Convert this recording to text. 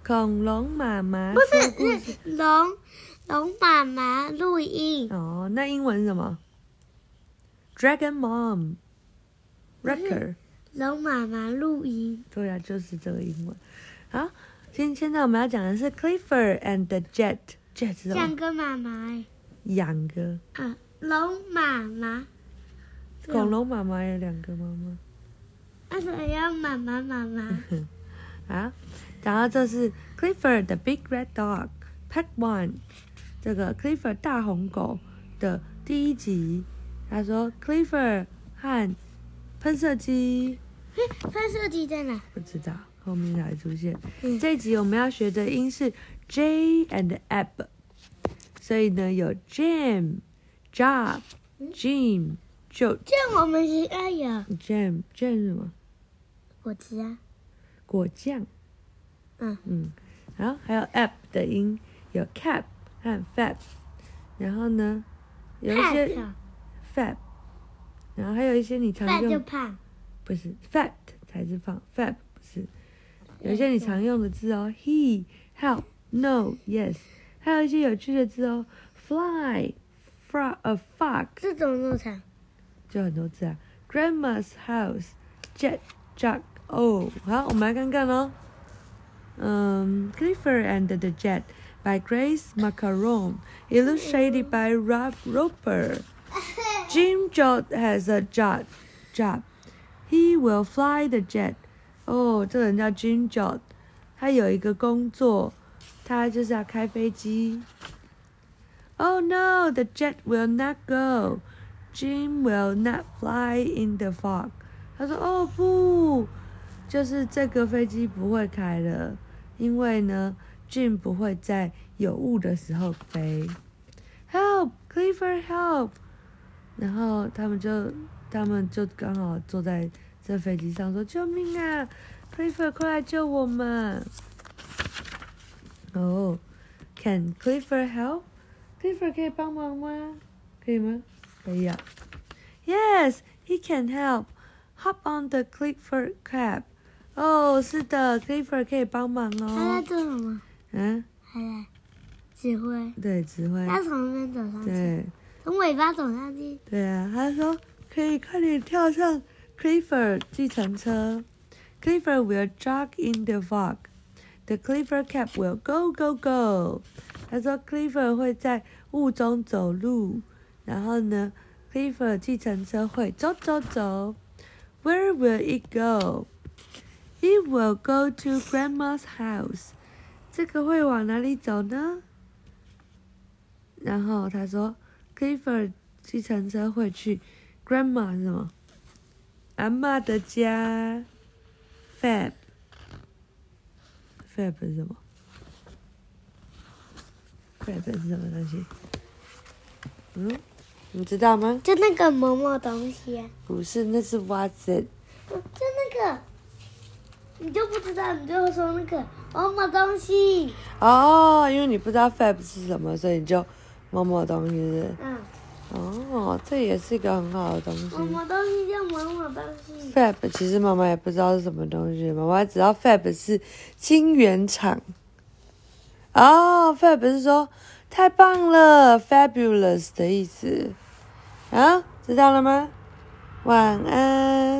恐龙妈妈不是龙妈妈录音。 哦，那英文是什么 ？Dragon Mom Record。 龙妈妈录音。 对啊，就是这个英文。好，现在我们要讲的是 Clifford and the Jet。Jet 是什么？ 两个妈妈两个。 龙妈妈。 恐龙妈妈有两个妈妈。 为什么要妈妈？ 好，然后这是 Clifford the Big Red Dog Part 1， 这个 Clifford 大红狗的第一集。他说 Clifford 和喷射机。 喷射机在哪？ 不知道，后面才出现。这一集我们要学的音是 J and Ab， 所以呢有 Jam、Job、Jim、Joe。 这样我们是要有 Jam 是什么？ 果汁啊。 果酱。好，还有 Ab 的音有 Cap 和 Fab， 然后呢有一些 Fab， 然后还有一些你常用。 Fat 就胖。 不是 Fat 才是胖 ，Fab 不是。有一些你常用的字哦 ，He、Help、No、Yes， 还有一些有趣的字哦 ，Fly、Fog。 这怎么那么长？ 就很多字啊 ，Grandma's House、Jet、Jug。哦，好，我们来看看哦。Clifford and the Jet by Grace Macaron, illustrated by Rob Roper. Jim Job has a job. He will fly the jet. 哦，这个人叫 Jim Job， 他有一个工作，他就是要开飞机。Oh no, the jet will not go. Jim will not fly in the fog. 他说：“哦不，就是这个飞机不会开了，因为呢 ，Jim 不会在有雾的时候飞。Help, Clifford, help！” 然后他们就刚好坐在这飞机上说：“救命啊 ，Clifford， 快来救我们！” Can Clifford help? Clifford 可以帮忙吗？可以吗？可以啊。Yes, he can help. Hop on the Clifford cab. 是的 ，Clifford 可以帮忙哦。 他在做什么？ 还在指挥。 对，指挥。 他从那边走上去。 对。 从尾巴走上去。 对啊，他说可以快点跳上 Clifford 计程车。Clifford will jog in the fog. The Clifford cab will go go go. 他说 Clifford 会在雾中走路，然后呢 ，Clifford 计程车会走走走。Where will it go? It will go to Grandma's house. 这个会往哪里走呢？然后他说 Clifford 计程车会去 Grandma 是什么？阿嬷的家。Fab 是什么？ Fab 是什么东西？你知道吗？ 就那个某某东西啊。 不是，那是 What's it？ 就那个，你就不知道，你就说那个某某东西。 哦，因为你不知道 Fab 是什么，所以你就某某东西是不是？这也是一个很好的东西。 某某东西叫某某东西。 Fab 其实妈妈也不知道是什么东西，妈妈只知道 Fab 是晶圆厂。Fab 是说太棒了 ，fabulous 的意思。知道了吗？晚安。